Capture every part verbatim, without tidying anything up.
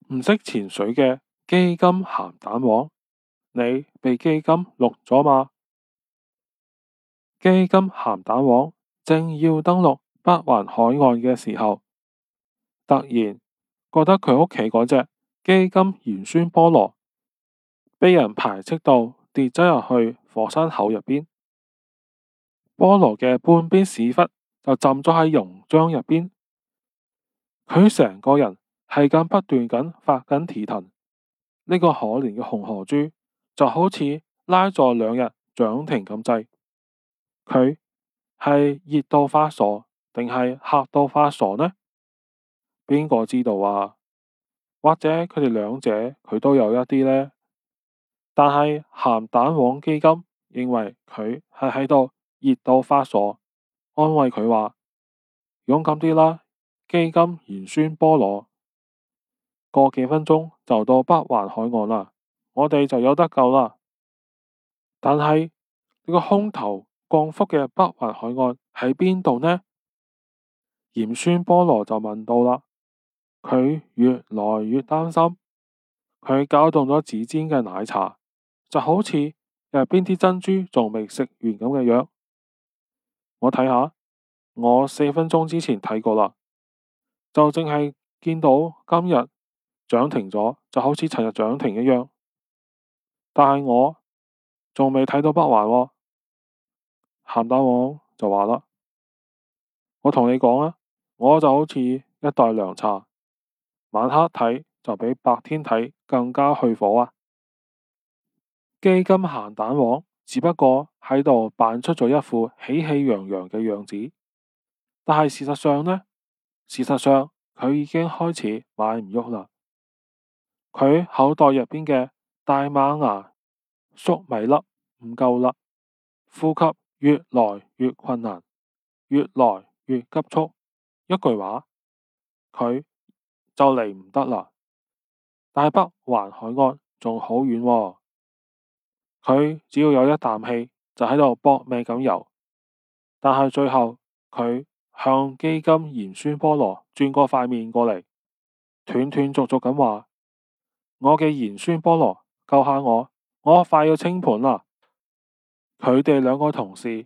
唔識潛水嘅基金鹹蛋黃，你被基金錄咗嗎？基金鹹蛋黃正要登陸北環海岸嘅時候，突然覺得佢屋企嗰隻基金鹽酸菠蘿被人排斥到跌咗入去火山口入邊，菠蘿嘅半邊屎忽就浸咗喺溶漿入邊，佢成個人係咁不斷咁發緊蹄騰。呢個可憐嘅紅河豬就好似拉咗兩日漲停咁滯，佢係熱到發傻定係嚇到發傻呢？邊個知道啊？或者佢哋兩者佢都有一啲呢？但係鹹蛋黃基金認為佢係喺度熱到發傻，安慰佢話：勇敢啲啦，基金鹽酸菠蘿，過幾分鐘就到北環海岸啦，我哋就有得救啦。但係呢個空頭降福嘅北環海岸喺邊度呢？鹽酸菠蘿就問到啦，佢越來越擔心，佢攪動咗指尖嘅奶茶，就好似入邊啲珍珠仲未食完咁嘅樣。我睇下，我四分鐘之前睇過啦，就淨係見到今日漲停咗，就好似尋日漲停一樣。但係我仲未睇到北環喎。鹹蛋黃就話啦，我同你講啊，我就好似一袋涼茶，晚黑睇就比白天睇更加去火啊！基金鹹蛋黃只不過喺度扮出咗一副喜氣洋洋嘅樣子，但係事實上呢？事實上佢已經開始買唔喐啦。佢口袋入邊嘅大馬牙粟米粒唔夠啦，呼吸越來越困難，越來越急促。一句話，佢就嚟唔得啦。但係北環海岸仲好遠喎，佢只要有一啖氣就喺度搏命咁游。但係最後佢向基金鹽酸菠蘿轉過塊面過嚟，斷斷續續咁話：我嘅鹽酸菠蘿，救下我，我快要清盤啦！佢哋兩個同事，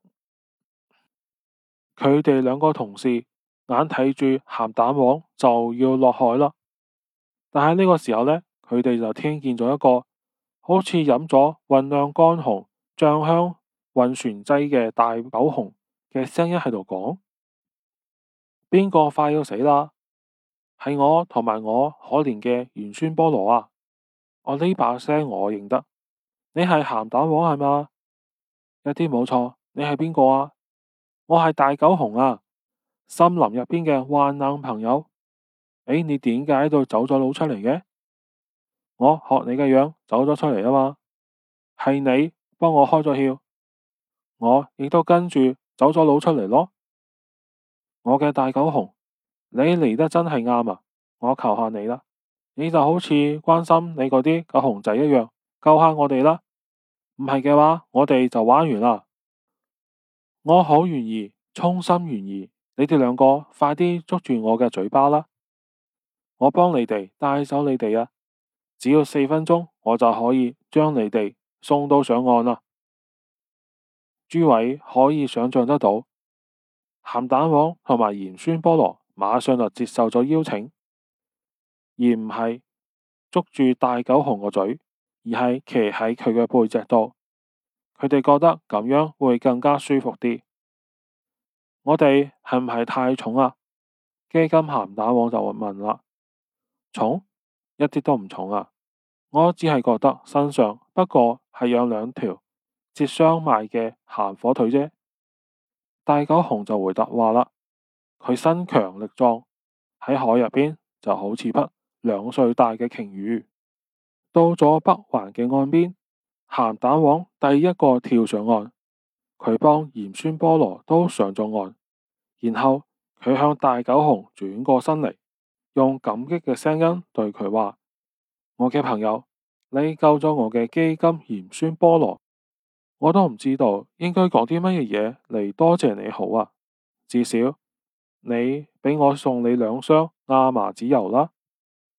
佢哋兩個同事眼睇住鹹蛋黃就要落海啦。但係呢個時候呢，佢哋就聽見咗一個好似飲咗混釀乾紅醬香運船劑嘅大狗熊嘅聲音喺度講：邊個快要死啦？係我同埋我可憐嘅鹽酸菠蘿啊！我呢把聲我認得，你係鹹蛋黃係嘛？一啲冇錯，你係邊個啊？我係大狗熊啊！森林入邊嘅患難朋友。誒，你點解喺度走咗佬出嚟嘅？我學你嘅樣走咗出嚟啊嘛，係你幫我開咗竅，我亦都跟住走咗佬出嚟咯。我嘅大狗熊，你嚟得真係啱啊！我求下你啦，你就好似關心你嗰啲狗熊仔一樣，救下我哋啦。唔係嘅話，我哋就玩完啦。我好願意，衷心願意，你哋兩個快啲捉住我嘅嘴巴啦！我幫你哋帶走你哋啊！只要四分鐘，我就可以將你哋送到上岸啦。諸位可以想象得到，鹹蛋黃同埋鹽酸菠蘿馬上就接受咗邀請，而唔係捉住大狗熊個嘴，而係騎喺佢嘅背脊度。佢哋覺得咁樣會更加舒服啲。我哋係唔係太重啊？基金鹹蛋黃就問啦。重？一啲都唔重啊！我只係覺得身上不過係有兩條切雙賣嘅鹹火腿啫。大狗熊就回答話啦，佢身強力壯，喺海入邊就好似匹兩歲大嘅鯨魚。到咗北環嘅岸邊，鹹蛋黃第一個跳上岸，佢幫鹽酸菠蘿都上咗岸，然後佢向大狗熊轉過身嚟，用感激嘅聲音對佢話：我嘅朋友，你救咗我嘅基金鹽酸菠蘿，我都唔知道應該講啲乜嘢嘢嚟多謝你好啊。至少你俾我送你兩箱亞麻籽油啦。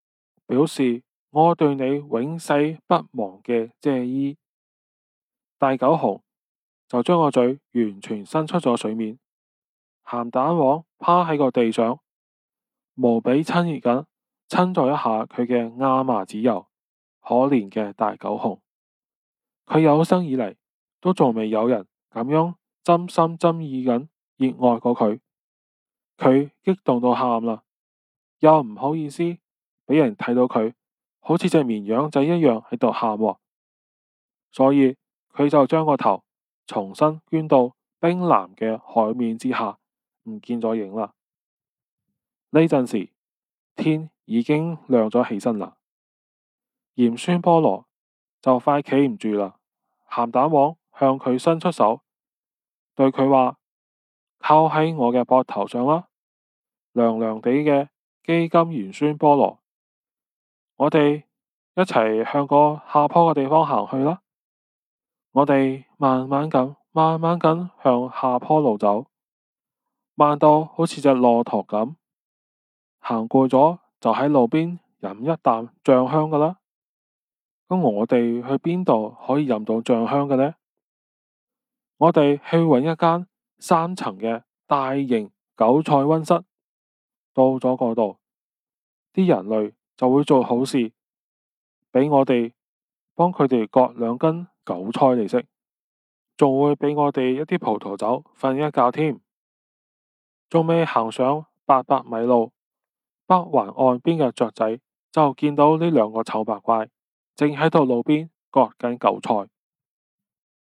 表示我對你永世不忘嘅謝意。大狗熊就將個嘴完全伸出咗水面，鹹蛋黃趴喺個地上，無比親熱咁親咗一下佢嘅亞麻籽油。可憐嘅大狗熊，佢有生以嚟都仲未有人咁樣真心真意咁熱愛過佢。佢激動到喊啦，又唔好意思俾人睇到佢好似隻綿羊仔一樣喺度喊喎，所以佢就將個頭重新捐到冰藍嘅海面之下，唔見咗影啦。呢陣時天已經亮咗起身啦，鹽酸菠蘿就快企唔住啦。鹹蛋黃向佢伸出手，對佢話：靠喺我嘅膊頭上啦，涼涼地嘅基金鹽酸菠蘿，我哋一齊向個下坡嘅地方行去啦。我哋慢慢咁、慢慢咁向下坡路走，慢到好似隻駱駝咁。行過咗就喺路邊飲一啖醬香噶啦。咁我哋去邊度可以飲到醬香嘅呢？我哋去揾一間三層嘅大型韭菜溫室。到咗嗰度，啲人類就會做好事，俾我哋幫佢哋割兩根韭菜嚟食，仲會俾我哋一啲葡萄酒瞓一覺添。仲未行上八百米路，北環岸邊嘅雀仔就見到呢兩個醜八怪正喺度路邊割緊韭菜。